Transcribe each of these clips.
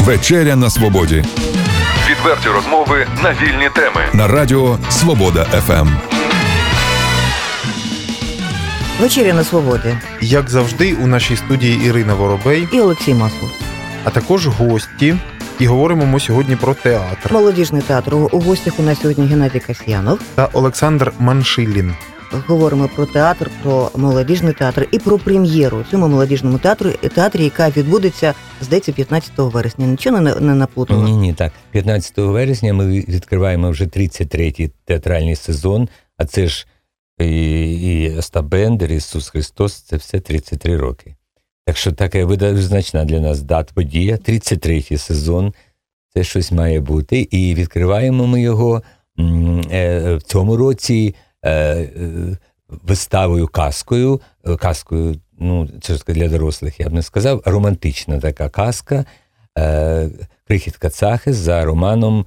Вечеря на свободі. Відверті розмови на вільні теми. На радіо Свобода ФМ. Вечеря на свободі. Як завжди, у нашій студії Ірина Воробей І Олексій Маслов. а також гості. І говоримо ми сьогодні про театр. Молодіжний театр. У гостях у нас сьогодні Геннадій Касьянов. Та Олександр Маншилін. Говоримо про театр, про молодіжний театр і про прем'єру у цьому молодіжному театрі, яка відбудеться, здається, 15 вересня. Нічого не наплутало? Ні, так. 15 вересня ми відкриваємо вже 33-й театральний сезон, а це ж і Остап Бендер, Ісус Христос, це все 33 роки. Так що така визначна для нас подія, 33-й сезон, це щось має бути. І відкриваємо ми його в цьому році виставою казкою, ну, це ж для дорослих, я б не сказав, романтична така казка «Крихітка Цахес» за романом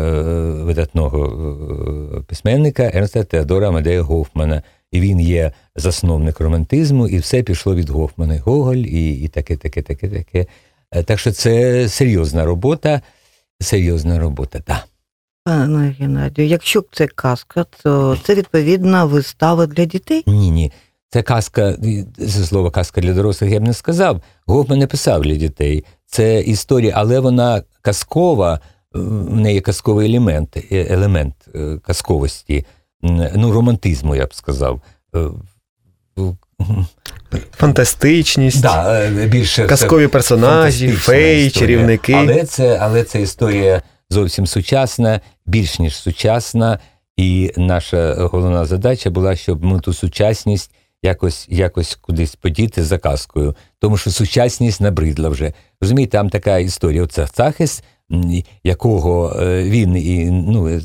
видатного письменника Ернста Теодора Амадея Гофмана. І він є засновник романтизму, і все пішло від Гофмана. Гоголь і таке. Так що це серйозна робота, так. Пане Геннадію, якщо це казка, то це, відповідно, вистава для дітей? Ні. Це казка, це слово казка для дорослих я б не сказав. Гофман не писав для дітей. Це історія, але вона казкова, в неї казковий елемент казковості, ну, романтизму, я б сказав. Фантастичність, більше казкові персонажі, феї, чарівники. Але це історія зовсім сучасна, більш ніж сучасна, і наша головна задача була, щоб ми ту сучасність якось кудись подіти за казкою, тому що сучасність набридла вже. Розумієте, там така історія, оце Цахес, якого він,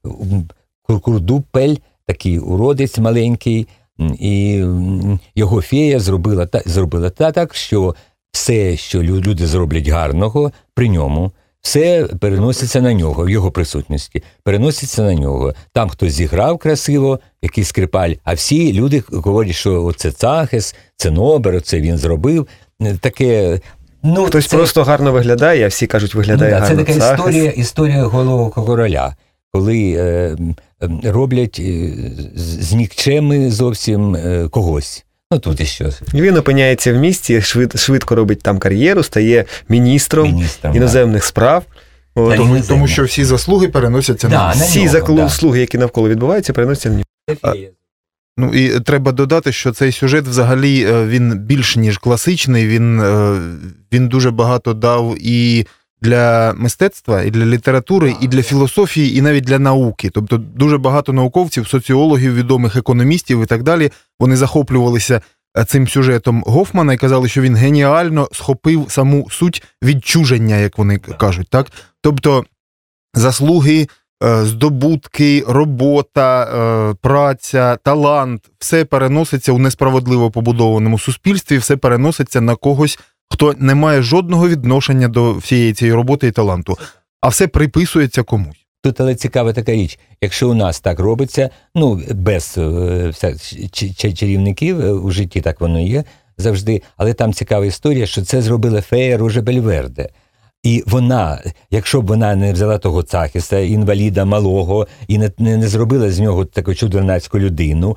Курдупель, такий уродець маленький, і його фея зробила так, що все, що люди зроблять гарного при ньому, все переноситься на нього, в його присутності, переноситься на нього. Там хтось зіграв красиво, якийсь скрипаль, а всі люди говорять, що оце Цахес, це Нобер, це він зробив. Таке... Хтось просто гарно виглядає, а всі кажуть, виглядає гарно Цахес. Це така історія Голого короля, коли роблять з нікчеми зовсім когось. Тут і що. Він опиняється в місті, швидко робить там кар'єру, стає міністром іноземних справ. Тому що всі заслуги переносяться на нього. Всі заслуги, які навколо відбуваються, переносяться на нього. І треба додати, що цей сюжет взагалі він більш ніж класичний, він дуже багато дав і для мистецтва, і для літератури, і для філософії, і навіть для науки. Тобто дуже багато науковців, соціологів, відомих економістів і так далі, вони захоплювалися цим сюжетом Гофмана і казали, що він геніально схопив саму суть відчуження, як вони кажуть. Так? Тобто заслуги, здобутки, робота, праця, талант, все переноситься у несправедливо побудованому суспільстві, все переноситься на когось, хто не має жодного відношення до всієї цієї роботи і таланту, а все приписується комусь. Тут але цікава така річ, якщо у нас так робиться, без чарівників, у житті так воно є завжди, але там цікава історія, що це зробила фея Ружа Бельверде. І вона, якщо б вона не взяла того Цахеса, інваліда малого, і не зробила з нього таку чудернацьку людину,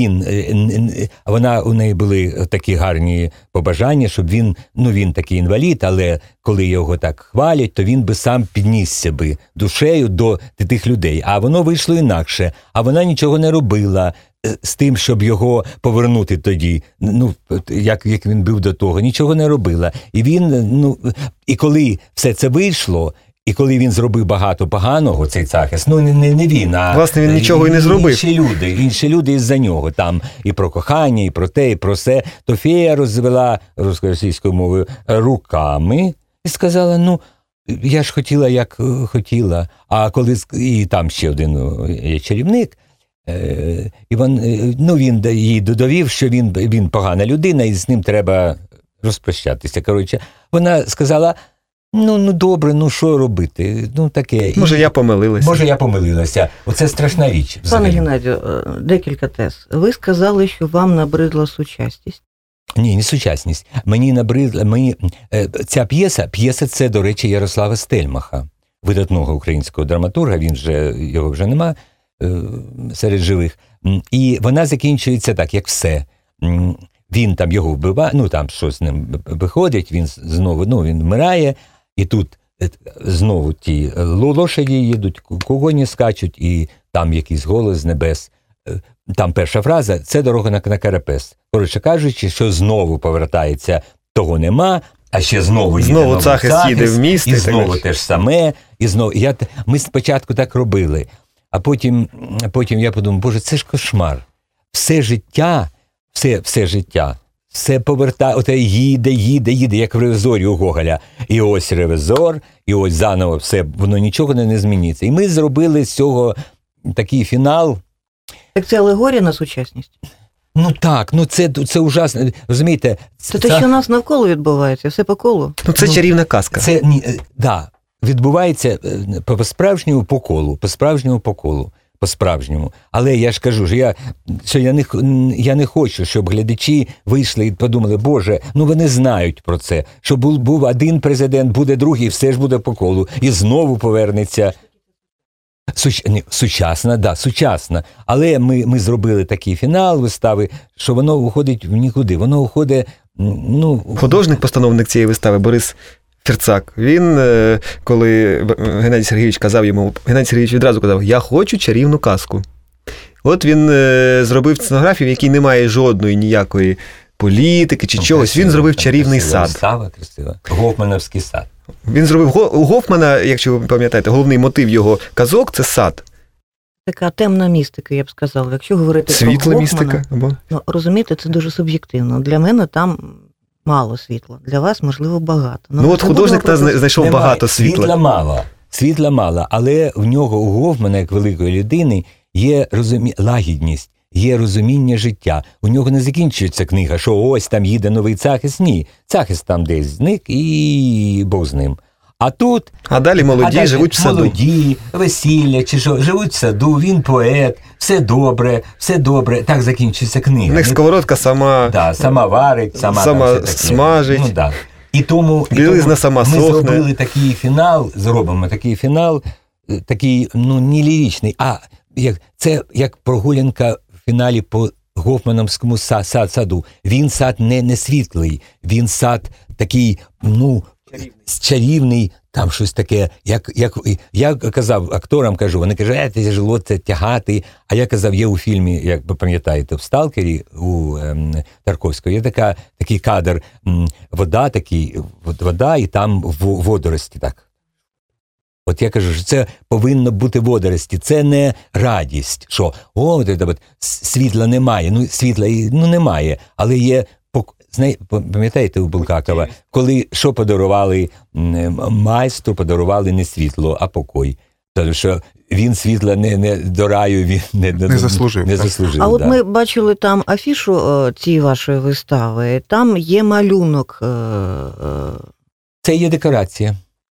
у неї були такі гарні побажання, щоб він такий інвалід, але коли його так хвалять, то він би сам піднісся би душею до тих людей. А воно вийшло інакше, а вона нічого не робила з тим, щоб його повернути тоді, як він був до того, нічого не робила. І і коли все це вийшло, і коли він зробив багато поганого, цей Цахес, не він, а... Власне, він нічого і не зробив. Інші люди із-за нього, там і про кохання, і про те, і про все, то фея розвела російською мовою руками і сказала, я ж хотіла, як хотіла. А коли, і там ще один є чарівник, і він їй довів, що він погана людина, і з ним треба розпрощатися. Коротше, вона сказала, добре, що робити? Таке. Може, я помилилася. Оце страшна річ. Пане Геннадію, декілька тез. Ви сказали, що вам набридла сучасність. Ні, не сучасність. Мені набридла, ця п'єса це, до речі, Ярослава Стельмаха, видатного українського драматурга, його вже нема серед живих. І вона закінчується так, як все. Він там його вбиває, там щось з ним виходить, він знову, він вмирає, і тут знову ті лошаді їдуть, коні скачуть, і там якийсь голос з небес. Там перша фраза – це дорога на Карапес. Коротше кажучи, що знову повертається, того нема, а ще знову їде новий Цахис їде в місто. І знову те ж саме. І знову. Ми спочатку так робили, а потім я подумав, боже, це ж кошмар. Все життя, все повертає, їде, як в ревізорі у Гоголя. І ось ревізор, і ось заново все, воно нічого не зміниться. І ми зробили з цього такий фінал. Так це алегорія на сучасність? Так, це ужасно, розумієте? Це те, що у нас навколо відбувається, все по колу. Це чарівна казка. Це, відбувається по-справжньому по колу. По-справжньому. Але я ж кажу, що я не хочу, щоб глядачі вийшли і подумали, боже, вони знають про це, що був один президент, буде другий, все ж буде по колу, і знову повернеться. Сучасна. Але ми зробили такий фінал вистави, що воно уходить в нікуди. Воно уходить, Художник-постановник цієї вистави Борис Фірцак, він, коли Геннадій Сергійович казав йому, Геннадій Сергійович відразу казав, я хочу чарівну казку. От він зробив сценографію, в якій немає жодної ніякої політики чи чогось. Він зробив чарівний сад. Вистава красива. Гофмановський сад. Він зробив у Гофмана, якщо ви пам'ятаєте, головний мотив його казок – це сад. Така темна містика, я б сказала. Якщо говорити світла про Гофмана, містика. Розумієте, це дуже суб'єктивно. Для мене там мало світла. Для вас, можливо, багато. Художник знайшов багато світла. Світла мало, але в нього, у Гофмана, як великої людини, є лагідність, є розуміння життя. У нього не закінчується книга, що ось там їде новий Цахис. Ні, Цахис там десь зник і Бог з ним. А тут... А далі молоді живуть в саду. Молоді, весілля, чи що, живуть в саду, він поет, все добре. Так закінчується книга. У них сковородка сама... сама варить, сама смажить. І тому білизна сама сохне. Ми зробили зробимо такий фінал, такий, не ліричний, а це як прогулянка в фіналі по Гофмановському саду. Він сад не світлий, він сад такий, чарівний, там щось таке, як я казав акторам, вони кажуть, тяжело це тягати, а я казав, є у фільмі, як ви пам'ятаєте, в «Сталкері» у Тарковського, є такий кадр, вода і там водорості так. От я кажу, що це повинно бути водорості, це не радість, що світла немає, світла немає, але є. Пам'ятаєте у Булгакова, коли що подарували майстру, подарували не світло, а покой. Тому що він світла не до раю, він не заслужив. А от ми бачили там афішу цієї вашої вистави, там є малюнок. Це є декорація.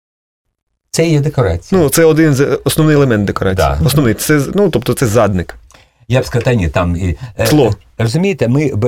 Це один основний елемент декорації. Да. Основний, тобто це задник. Я б сказав, там... Тло. Розумієте,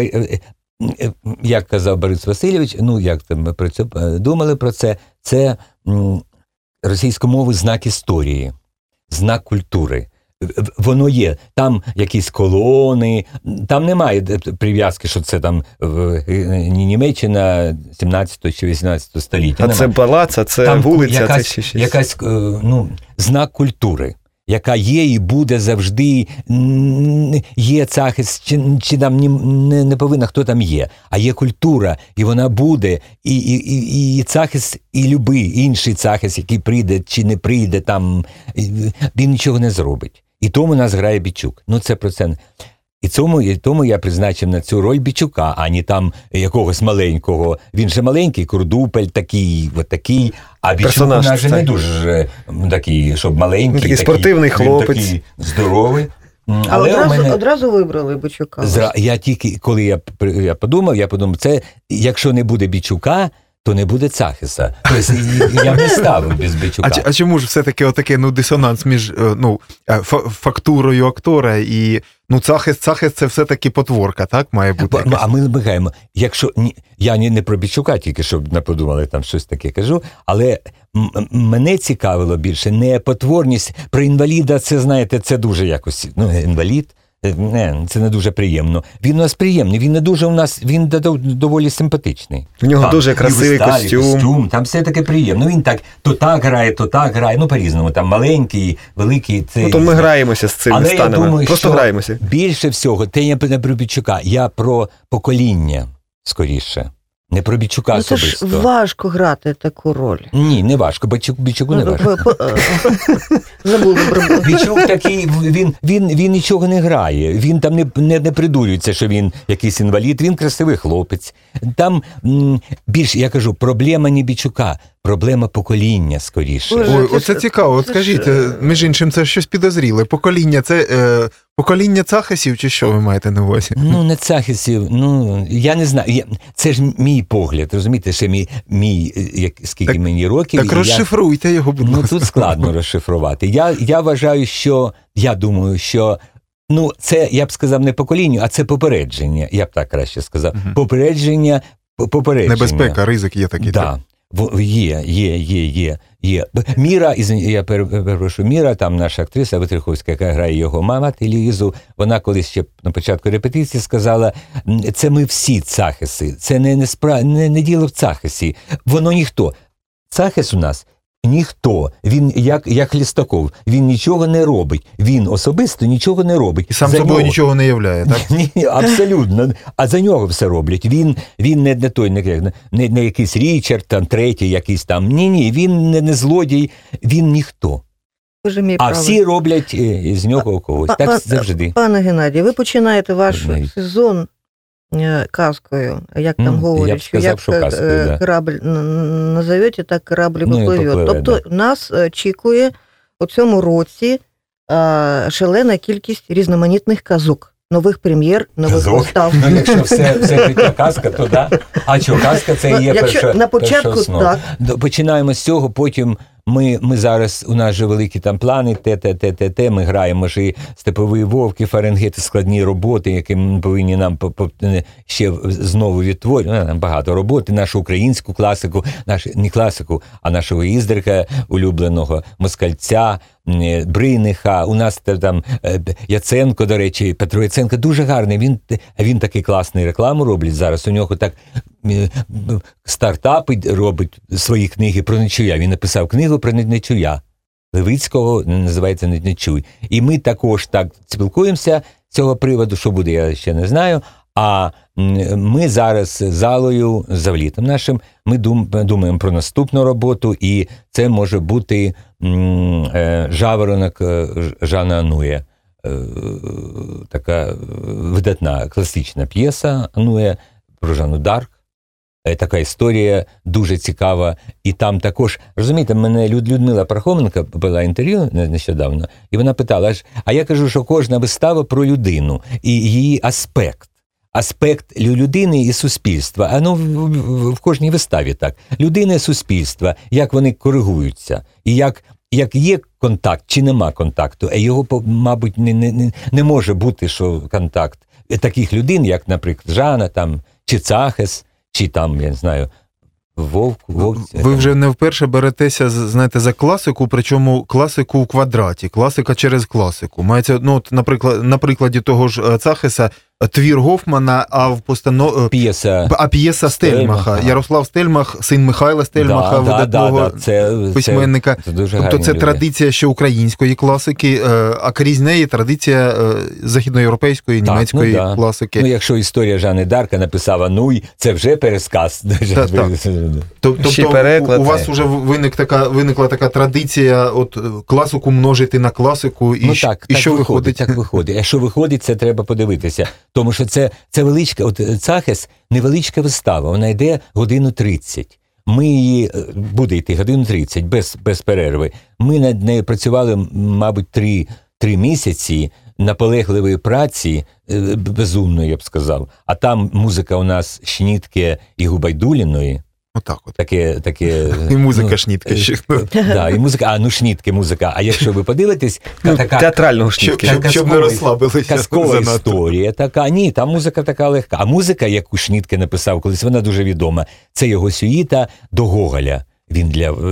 як казав Борис Васильович, ми думали про це російськомовний знак історії, знак культури. Воно є, там якісь колони, там немає прив'язки, що це там Німеччина 17 чи 18 століття. Це палац, а це там вулиця, це щось. Якась, знак культури, яка є і буде завжди, є Цахис, чи там не повинна, хто там є, а є культура, і вона буде, і Цахис, і любий інший Цахис, який прийде чи не прийде, там, він нічого не зробить. І тому нас грає Бічук. Це про це. І тому я призначив на цю роль Бічука, а не там якогось маленького. Він же маленький, Курдупель такий, а Бічук у нас же не дуже такий, щоб маленький. Такий спортивний хлопець. Такий здоровий. Але одразу вибрали Бічука. Я тільки, коли я подумав, це, якщо не буде Бічука, то не буде Цахеса. Тобто я б не ставив без Бичука. А чому ж все-таки отакий дисонанс між фактурою актора і Цахес це все-таки потворка, так? Має бути якась? А ми вибігаємо. Якщо я не про Бичука тільки, щоб не подумали, там щось таке кажу, але мене цікавило більше не потворність. Про інваліда, це, знаєте, це дуже якось, інвалід, це не дуже приємно. Він у нас приємний, він не дуже у нас, він доволі симпатичний. У нього дуже красивий костюм. Там все таке приємно. Він то так грає, по-різному. Там маленький, великий. То ми граємося з цими станами. Я думаю, просто граємося. Більше всього, я не про Бичука, я про покоління, скоріше. Не про Бичука особисто. Це ж важко грати таку роль. Ні, не важко. Бичуку не важко. Забули про Бичук такий, він нічого не грає. Він там не придурюється, що він якийсь інвалід. Він красивий хлопець. Там більше, я кажу, проблема не Бичука, проблема покоління, скоріше. Ой, оце цікаво. От скажіть, між іншим, це щось підозріле. Покоління, це покоління Цахесів, чи що ви маєте на увазі? Не Цахесів, я не знаю. Це ж мій погляд, розумієте, ще скільки мені років. Так розшифруйте його, будь ласка. Тут складно розшифрувати. Я вважаю, я думаю, що це, я б сказав, не поколінню, а це попередження. Я б так краще сказав. Попередження. Небезпека, ризик є такий. Так. Є. Міра, я перепрошую, Міра, там наша актриса Витриховська, яка грає його мати Лізу, вона колись ще на початку репетиції сказала, це ми всі Цахеси, це не діло в Цахесі, воно ніхто. Цахес у нас ніхто, він як Хлістаков, він нічого не робить, він особисто нічого не робить. І сам собою нічого не являє, так? Ні, абсолютно, а за нього все роблять. Він не той, не якийсь Річард, там, третій якийсь там, ні, він не злодій, він ніхто. А всі роблять з нього когось, так завжди. Пане Геннадію, ви починаєте ваш сезон казкою, як там говорять, що як корабль назовете, так корабль попливе. Тобто нас очікує у цьому році шалена кількість різноманітних казок, нових прем'єр, нових вистав. Якщо все життя казка, то да. А що, казка це є перша основа. Починаємо з цього, потім ми зараз, у нас же великі там плани, ми граємо ж і «Степовий вовк», і «Фаренгейт», складні роботи, які ми повинні нам ще знову відтворювати, багато роботи, нашу українську класику, не класику, а нашого Іздрика улюбленого, Москальця, Бриниха, у нас там Яценко, до речі, Петро Яценко, дуже гарний, він такий класний рекламу робить зараз, у нього так стартапи робить свої книги про Нечуя. Він написав книгу про Нечуя. Левицького, називається «Нечуй». І ми також так спілкуємося з цього приводу, що буде, я ще не знаю. А ми зараз з залою, з завлітом нашим, ми думаємо про наступну роботу, і це може бути «Жаворонок» Жана Анує. Така видатна класична п'єса Анує про Жанну Дарк. Така історія дуже цікава. І там також, розумієте, мене Людмила Пархоменко була інтерв'ю нещодавно, і вона питала, а я кажу, що кожна вистава про людину і її аспект людини і суспільства. В кожній виставі так. Людина і суспільства, як вони коригуються, і як є контакт, чи нема контакту, а його, мабуть, не може бути, що контакт таких людей, як, наприклад, Жана, там, чи Цахес, чи там, я не знаю, Вовк. Ви вже не вперше беретеся, знаєте, за класику, причому класику в квадраті, класика через класику. Мається, на прикладі того ж Цахеса, твір Гофмана, а п'єса Стельмаха. Ярослав Стельмах, син Михайла Стельмаха, видатного письменника. Тобто це традиція ще української класики, а крізь неї традиція західноєвропейської, німецької класики. Якщо історія Жанни Дарка написав Ануй, це вже пересказ. Тобто у вас вже виникла така традиція класику множити на класику, і що виходить? Так виходить. А що виходить, це треба подивитися. Тому що це величка, Цахес невеличка вистава, вона йде 1:30. Ми її, буде йти 1:30, без перерви. Ми над нею працювали, мабуть, 3 місяці наполегливої праці, безумної, я б сказав. А там музика у нас Шнітке і Губайдуліної. Отак от. Таке, і музика шнітки ще. Да, і музика, шнітки музика. А якщо ви подивитесь, така театрального шнітки. Щоб не розслабилися. Казкова історія така. Ні, там музика така легка. А музика, яку Шнітке написав колись, вона дуже відома. Це його сюїта до Гоголя. Він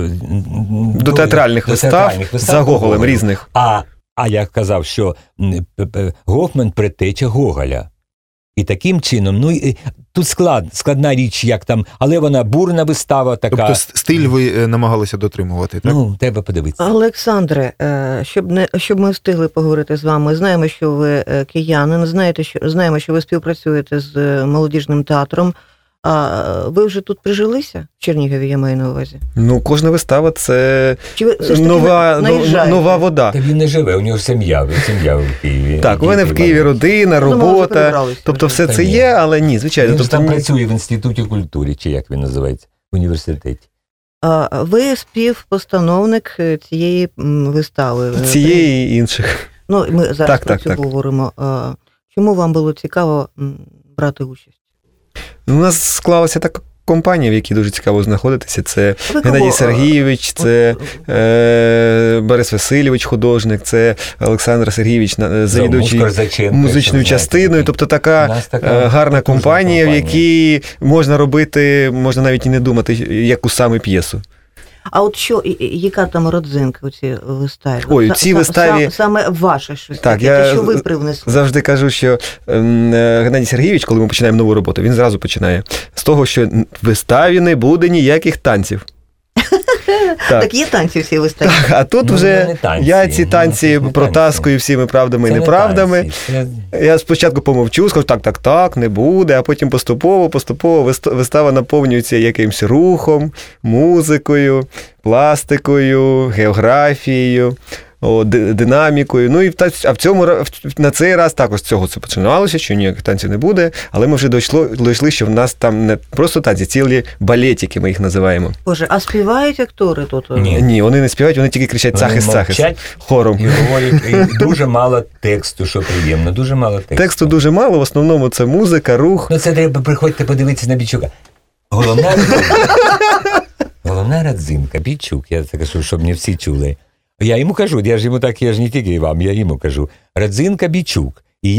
до театральних вистав за Гоголем різних. А я казав, що Гофман предтеча Гоголя. І таким чином, тут складна річ, як там, але вона бурна вистава така. Тобто стиль ви намагалися дотримувати, так? Треба подивитися. Олександре, щоб ми встигли поговорити з вами, знаємо, що ви киянин, знаємо, що ви співпрацюєте з молодіжним театром. А ви вже тут прижилися? В Чернігові, я маю на увазі. Кожна вистава – це нова вода. Та він не живе, у нього сім'я в Києві. Так, у мене в Києві родина, робота, тобто все це є, але ні, звичайно. Він там працює в Інституті культури, чи як він називається, в університеті. Ви співпостановник цієї вистави. Цієї і інших. Ми зараз про це говоримо. Чому вам було цікаво брати участь? У нас склалася така компанія, в якій дуже цікаво знаходитися. Це Геннадій Сергійович, це Борис Васильович, художник, це Олександр Сергійович, завідуючий музичною частиною. Тобто така гарна компанія, в якій можна робити, можна навіть і не думати, яку саме п'єсу. А от яка там родзинка у цій виставі? Ой, у цій виставі... Саме ваше щось так, таке, що ви привнесли. Завжди кажу, що Геннадій Сергійович, коли ми починаємо нову роботу, він зразу починає з того, що в виставі не буде ніяких танців. Так є танці всі виставі. Так, а тут вже я ці танці протаскую всіми правдами і неправдами. Я спочатку помовчу, скажу, так, не буде, а потім поступово вистава наповнюється якимось рухом, музикою, пластикою, географією, динамікою. А на цей раз також з цього це починалося, що ніяких танців не буде, але ми вже дійшли, що в нас там не просто танці, цілі балетики ми їх називаємо. Боже, а співають актори тут? Ні, вони не співають, вони тільки кричать «Захист» хором. І говорять, і дуже мало тексту, що приємно, дуже мало тексту. Тексту дуже мало, в основному це музика, рух. Це треба, приходьте подивитися на Бічука. Головна родзинка, Бічук, я це кажу, щоб не всі чули. Я йому кажу, я ж не тільки вам, я йому кажу, родзинка Бічук. І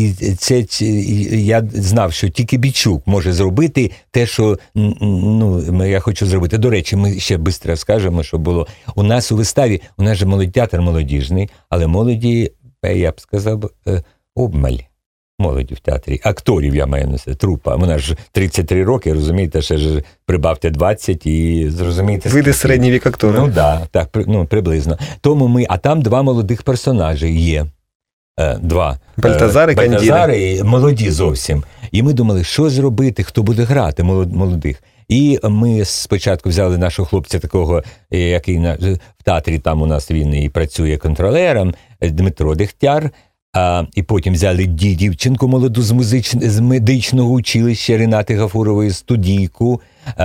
я знав, що тільки Бічук може зробити те, що я хочу зробити. До речі, ми ще швидко скажемо, що було. У нас у виставі, у нас же театр молодіжний, але молоді, я б сказав, обмаль. Молоді в театрі. Акторів я маю на себе, трупа. Вона ж 33 роки, розумієте, ще ж прибавте 20 і зрозумієте. Вийде середній вік актора. Так, приблизно. Тому а там два молодих персонажі є. Два. Бальтазар і Кандіда. Бальтазар і молоді зовсім. І ми думали, що зробити, хто буде грати молодих. І ми спочатку взяли нашого хлопця такого, який в театрі там у нас він і працює контролером, Дмитро Дегтяр. І потім взяли дівчинку молоду з медичного училища Ренати Гафурової, студійку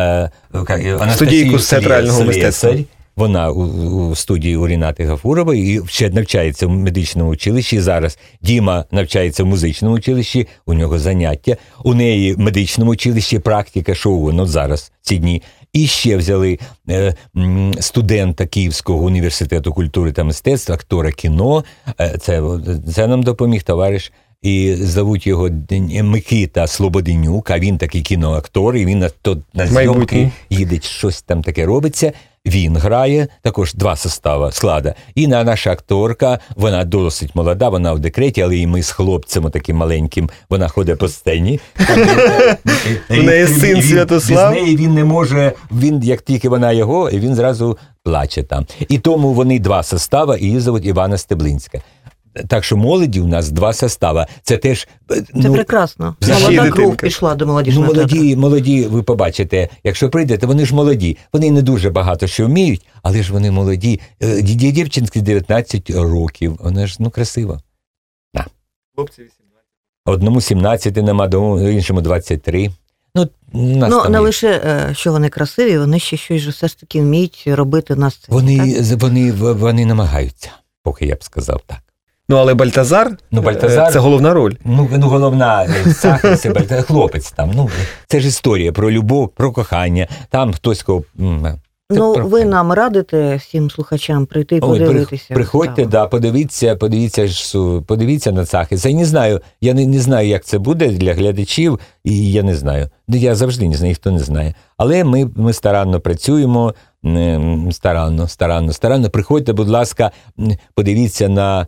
з театрального мистецтва. Вона у студії у Ренати Гафурової і ще навчається в медичному училищі. Зараз Діма навчається в музичному училищі, у нього заняття. У неї в медичному училищі практика шоу, зараз ці дні. І ще взяли студента Київського університету культури та мистецтва, актора кіно. Це нам допоміг товариш. І зовуть його Микита Слободенюк, а він такий кіноактор, і він на зйомки їде, щось там таке робиться. Він грає, також два склада. І наша акторка, вона досить молода, вона в декреті, але і ми з хлопцем таким маленьким, вона ходить по сцені. У неї син Святослав. Без неї він не може, як тільки вона його, і він зразу плаче там. І тому вони два состави, і її звуть Івана Стеблинська. Так що молоді у нас два состави. Це теж... Це прекрасно. Молода кров пішла до молодіжного театру. Молоді, ви побачите, якщо прийдете, вони ж молоді. Вони не дуже багато що вміють, але ж вони молоді. Дівчинки 19 років. Вона ж, красива. Хлопці 18. Одному 17 нема, іншому 23. Не лише, що вони красиві, вони ще щось все ж таки вміють робити на сцені. Вони намагаються, поки я б сказав так. Ну, але Бальтазар, це головна роль. Ну головна, Цахес, хлопець там. Це ж історія про любов, про кохання. Там хтось кого... ви нам радите всім слухачам прийти і подивитися? Приходьте, подивіться на Цахеса. Я не знаю, як це буде для глядачів, і я не знаю. Я завжди не знаю, ніхто не знає. Але ми старанно працюємо, старанно. Приходьте, будь ласка, подивіться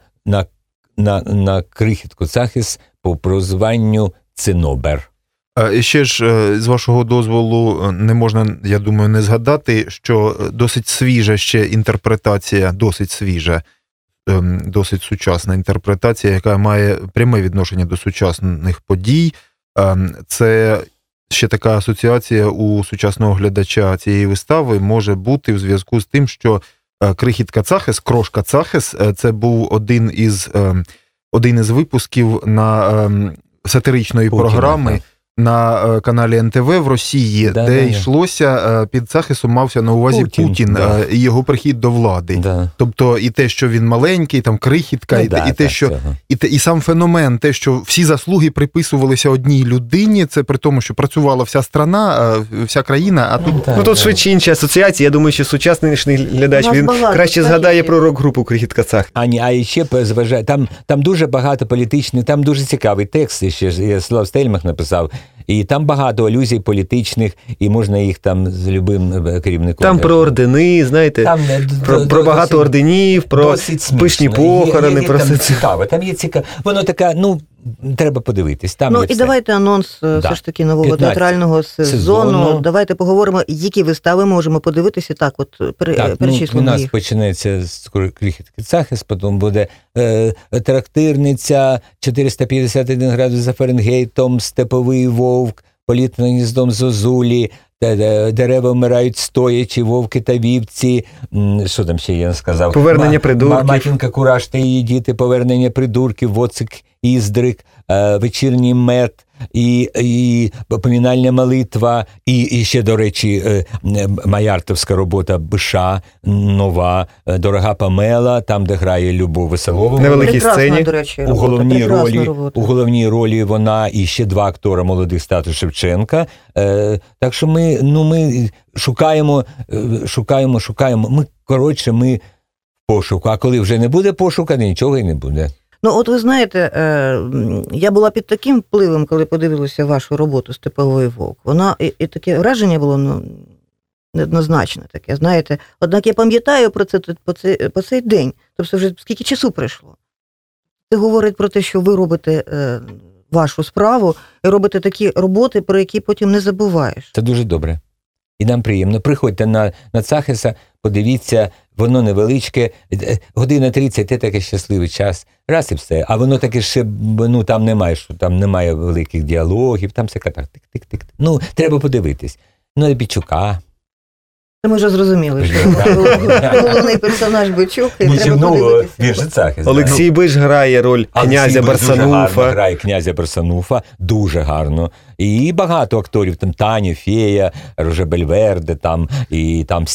на крихітку Цахес по прозванню Цинобер. І ще ж, з вашого дозволу, не можна, я думаю, не згадати, що досить свіжа ще інтерпретація, досить сучасна інтерпретація, яка має пряме відношення до сучасних подій. Це ще така асоціація у сучасного глядача цієї вистави може бути в зв'язку з тим, що крихітка Цахес, крошка Цахес, це був один із випусків на сатиричної програми на каналі НТВ в Росії, де йшлося, під Цахесом мався на увазі Путін і його прихід до влади. Тобто і те, що він маленький, там крихітка, і сам феномен, те, що всі заслуги приписувалися одній людині, це при тому, що працювала вся страна, вся країна, а тут... Тут швидше інші асоціації. Я думаю, що сучасний глядач, він краще згадає про рок-групу «Крихітка Цахес». А ще зважає, там дуже багато політичних, там дуже цікавий текст, ще Слав Стельмах написав, і там багато алюзій політичних, і можна їх там з любим керівником. Там про ордени, знаєте, про багато орденів, про пишні похорони. Там цікаво, там є цікаво. Воно таке, треба подивитись. І давайте анонс все ж таки нового театрального сезону. Давайте поговоримо, які вистави можемо подивитися. Так, перечислимо у нас їх. Почнеться з крихітки Цахес, потім буде трактирниця, 451 градус за Фаренгейтом, Степовий вовк, Політ над гніздом зозулі, Дерева вмирають стоячи, вовки та вівці. Що там ще я сказав? Повернення придурків. Матінка Кураж та її діти, Повернення придурків, Воцик Іздрик, Вечірній мед, і помінальна молитва, і ще, до речі, маяртовська робота Биша, нова, Дорога Памела, там, де грає Любов Веселова. На великій сцені. До речі, у головній ролі вона і ще два актора молодих стату Шевченка. Так що ми шукаємо. Ми в пошуку. А коли вже не буде пошуку, нічого і не буде. От ви знаєте, я була під таким впливом, коли подивилася вашу роботу «Степовий вовк». Вона і таке враження було неоднозначне таке, знаєте. Однак я пам'ятаю про це по цей день. Тобто вже скільки часу пройшло. Це говорить про те, що ви робите вашу справу і робите такі роботи, про які потім не забуваєш. Це дуже добре. І нам приємно. Приходьте на Цахеса, подивіться, воно невеличке, година 30, це такий щасливий час, раз і все. А воно таке ще, там немає великих діалогів, там все так, тик-тик-тик. Треба подивитись. Бичука. Ми вже зрозуміли, що головний персонаж Бичук, і треба подивитися. Він же Цахес. Олексій Биш грає роль князя Барсануфа. Грає князя Барсануфа, дуже гарно. І багато акторів, там Таня, Фея, Роже Бельверде, там, і там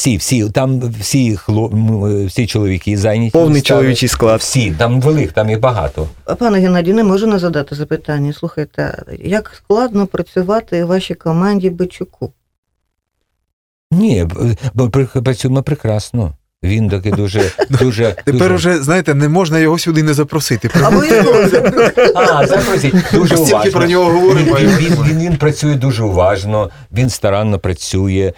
всі чоловіки зайняті. Повний чоловічий склад. Всі, там їх багато. Пане Геннадію, не можу не задати запитання. Слухайте, як складно працювати вашій команді Бичуку? Ні, працюємо прекрасно. Він таки дуже... Тепер уже, знаєте, не можна його сюди не запросити. Запросіть. Дуже уважно. Стільки про нього говоримо. Він працює дуже уважно, він старанно працює.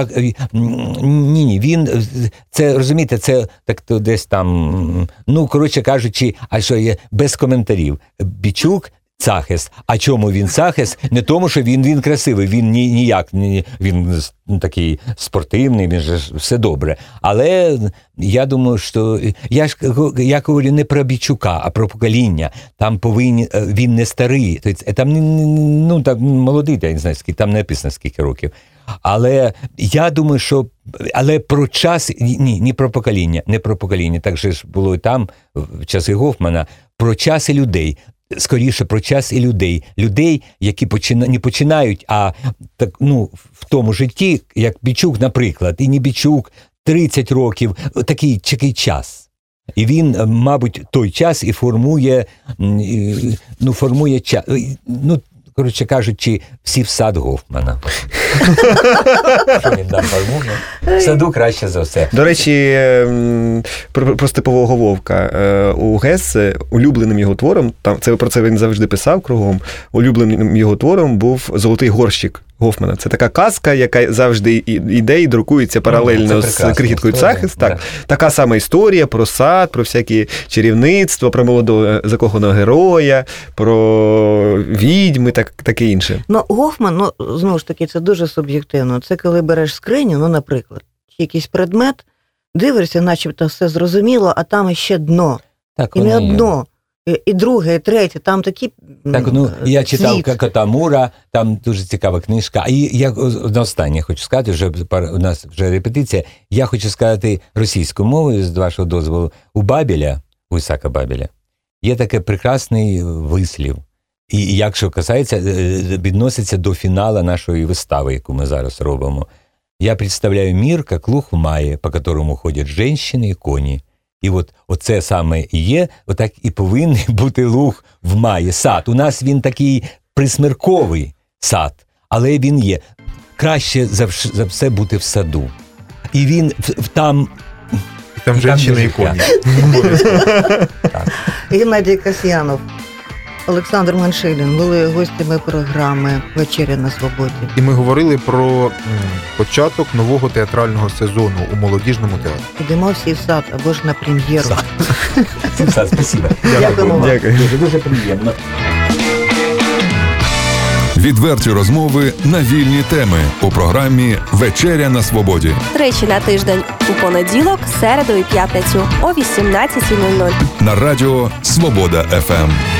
Він... Це, розумієте, це так десь там... коротше кажучи, а що є? Без коментарів. Бичук Цахес. А чому він Цахес? Не тому, що він красивий, він ніяк, він такий спортивний, він же все добре. Але я думаю, що я говорю не про Бичука, а про покоління. Там він не старий, там молодий, я не знаю, скільки, там не написано скільки років. Але я думаю, що про час, не про покоління, так же ж було і там, в часи Гофмана, про час і людей. Скоріше про час і людей, які не починають, а в тому житті, як Бичук, наприклад, і не Бичук, 30 років, такий час. І він, мабуть, той час і формує час. Коротше кажучи, всі в сад Гофмана. Що він там формує? В саду краще за все. До речі, про Степового Вовка. У Гессе улюбленим його твором, про це він завжди писав кругом, улюбленим його твором був «Золотий горщик» Гофмана. Це така казка, яка завжди йде і друкується паралельно з «Крихіткою Цахис». Так. Така сама історія про сад, про всякі чарівництва, про молодого закоханого героя, про відьми, таке інше. Гофман, знову ж таки, це дуже суб'єктивно. Це коли береш скриню, наприклад, якийсь предмет, дивишся, начебто все зрозуміло, а там іще дно. Так, і не одно. І друге, і третє, там такі я читав «Кота Мура», там дуже цікава книжка. І я на останнє хочу сказати, вже у нас вже репетиція, я хочу сказати російською мовою, з вашого дозволу, у Ісака Бабеля, є такий прекрасний вислів. І якщо касається, відноситься до фіналу нашої вистави, яку ми зараз робимо. Я представляю мир, як луг в маї, по которому ходять жінки і коні. І оце саме і є, отак і повинен бути луг в маї, сад. У нас він такий присмерковий сад, але він є. Краще за все бути в саду. І він там жінки і коні. Геннадій Касьянов, Олександр Меншилін були гостями програми «Вечеря на свободі». І ми говорили про початок нового театрального сезону у молодіжному театрі. Ідемо всі в сад, або ж на прем'єру. Всі в сад, спасибо. Дякую. Дуже приємно. Відверті розмови на вільні теми у програмі «Вечеря на свободі». Тричі на тиждень у понеділок, середу і п'ятницю о 18:00. На радіо «Свобода ФМ».